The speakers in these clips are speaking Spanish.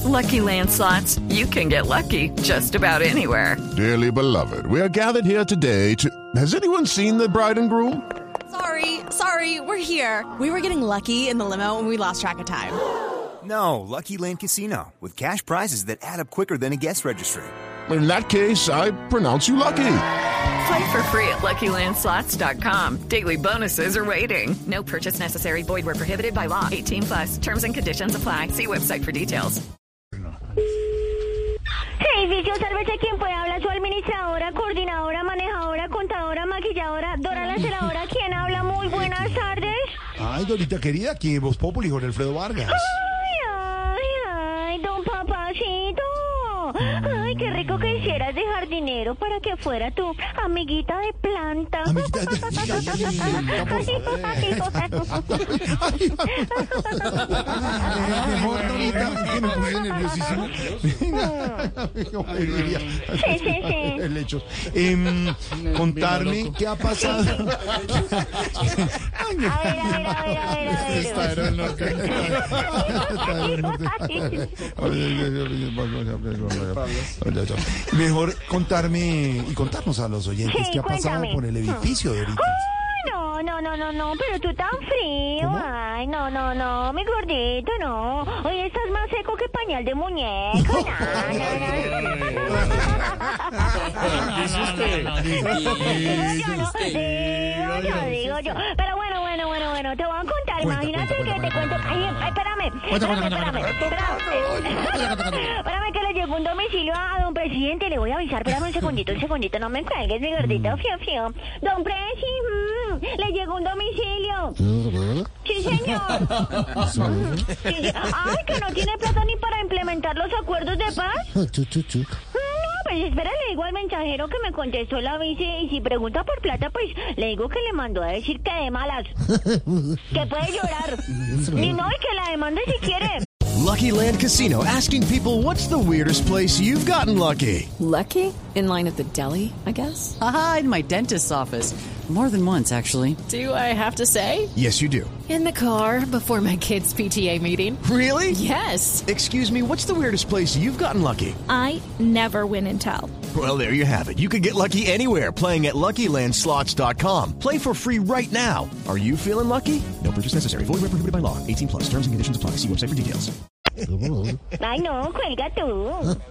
Lucky Land Slots, you can get lucky just about anywhere. Dearly beloved, we are gathered here today to... Has anyone seen the bride and groom? Sorry, we're here. We were getting lucky in the limo and we lost track of time. No, Lucky Land Casino, with cash prizes that add up quicker than a guest registry. In that case, I pronounce you lucky. Play for free at LuckyLandSlots.com. Daily bonuses are waiting. No purchase necessary. Void where prohibited by law. 18+. Terms and conditions apply. See website for details. Servicio, sálvese quien pueda. Habla su administradora, coordinadora, manejadora, contadora, maquilladora, Dora la celadora. ¿Quién habla? Muy buenas tardes. Ay, Dorita querida, aquí en Voz Populi, Jorge Alfredo Vargas. Ay, don Papacito. Ay, qué rico que hicieras dejar dinero para que fuera tu amiguita de planta. Amiguita de mejor, Dorita, que me puse nerviosísimo. Sí. El hecho. Contarme qué ha pasado. A ver. Está en el norte. Mejor contarme y contarnos a los oyentes qué ha pasado cuéntame. por el edificio de ahorita. No, pero tú tan frío. ¿Cómo? Ay, no, mi gordito, no. Hoy estás más seco que pañal de muñeca. No. Digo yo. Pero bueno, te voy a contar. Imagínate que te cuento. Ay, espérame. Espérame que le llegó un domicilio a don presidente. Le voy a avisar. Espérame un segundito. No me cuelgues, mi gordito. Fío. Don Presi, le llegó un domicilio. Sí, señor. Ay, que no tiene plata ni para implementar los acuerdos de paz. No, pues espera, le digo al mensajero que me contestó la vice y si pregunta por plata, pues le digo que le mandó a decir que de malas. Que puede llorar. Y no, y que la demande si quiere. Lucky Land Casino, asking people, what's the weirdest place you've gotten lucky? Lucky? In line at the deli, I guess? Aha, in my dentist's office. More than once, actually. Do I have to say? Yes, you do. In the car before my kids' PTA meeting. Really? Yes. Excuse me, what's the weirdest place you've gotten lucky? I never win and tell. Well, there you have it. You can get lucky anywhere, playing at LuckyLandSlots.com. Play for free right now. Are you feeling lucky? No purchase necessary. Void where prohibited by law. 18+. Terms and conditions apply. See website for details. Ay, no, cuelga tú.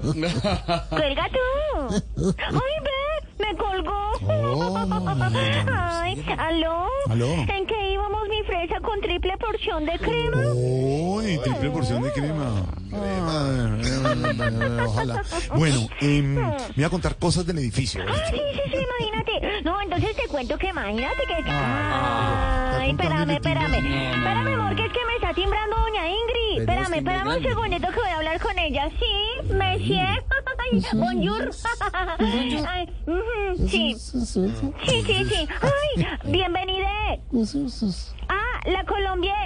Ay, ve, me colgó. Ay, ¿aló? ¿En qué íbamos, mi fresa, con triple porción de crema? Uy, triple porción de crema. Ojalá. Bueno, me voy a contar cosas del edificio. Sí, imagínate. No, entonces te cuento que imagínate que... Ay, espérame, amor, que es que me está timbrando doña Ingrid. Espérame un segundito que voy a hablar con ella. Sí, monsieur. Bonjour. Ay, sí. Ay, bienvenida. La Colombia.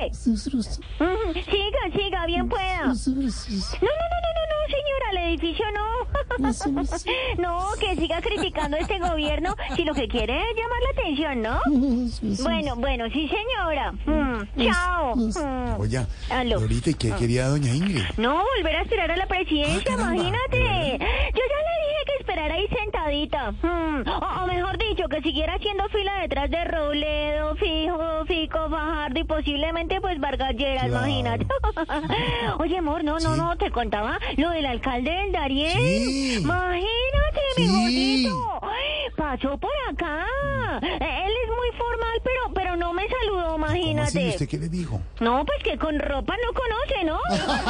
Siga, bien pueda. No, señora, el edificio no. No, que siga criticando este gobierno si lo que quiere es llamar la atención, ¿no? Bueno, sí, señora. Chao. Oye, ¿aló? ahorita, ¿y qué quería doña Ingrid? No, volver a aspirar a la presidencia, imagínate. Yo ya le dije que esperara ahí sentadita. O mejor dicho, que siguiera haciendo fila detrás de Robledo, Fico, Fajardo y posiblemente pues Vargas Lleras, imagínate. Oye, amor, no, te contaba lo del alcalde del Darién. Sí. Imagínate, mi gordito. Pasó por acá. Él es muy formal, pero no me saludó, imagínate. ¿Cómo así? ¿Usted qué le dijo? No, pues que con ropa no conoce, ¿no?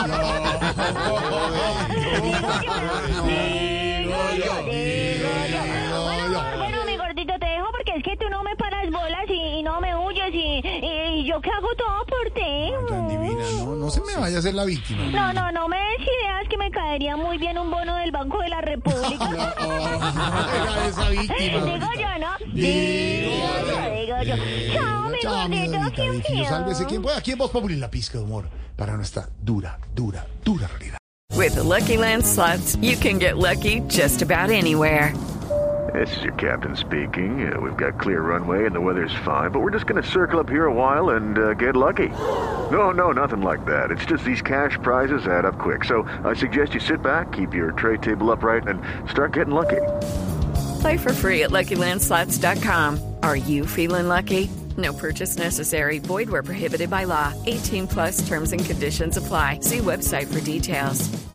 Digo yo. Bueno, mi gordito, te dejo porque es que tú no me paras bolas y no me huyes y yo que hago todo por ti. Tan divina, no se me vaya a hacer la víctima. No me des ideas que me caería muy bien un bono del Banco de la República. Esa víctima. Digo yo, ¿no? Digo yo. Chao, mi gordito, ¿quién fío? Sálvese quien pueda. Aquí en Voz Populi, la pizca de humor para nuestra dura realidad. With the Lucky Land Slots, you can get lucky just about anywhere. This is your captain speaking. We've got clear runway and the weather's fine, but we're just going to circle up here a while and get lucky. No, nothing like that. It's just these cash prizes add up quick. So I suggest you sit back, keep your tray table upright, and start getting lucky. Play for free at LuckyLandSlots.com. Are you feeling lucky? No purchase necessary. Void where prohibited by law. 18+ terms and conditions apply. See website for details.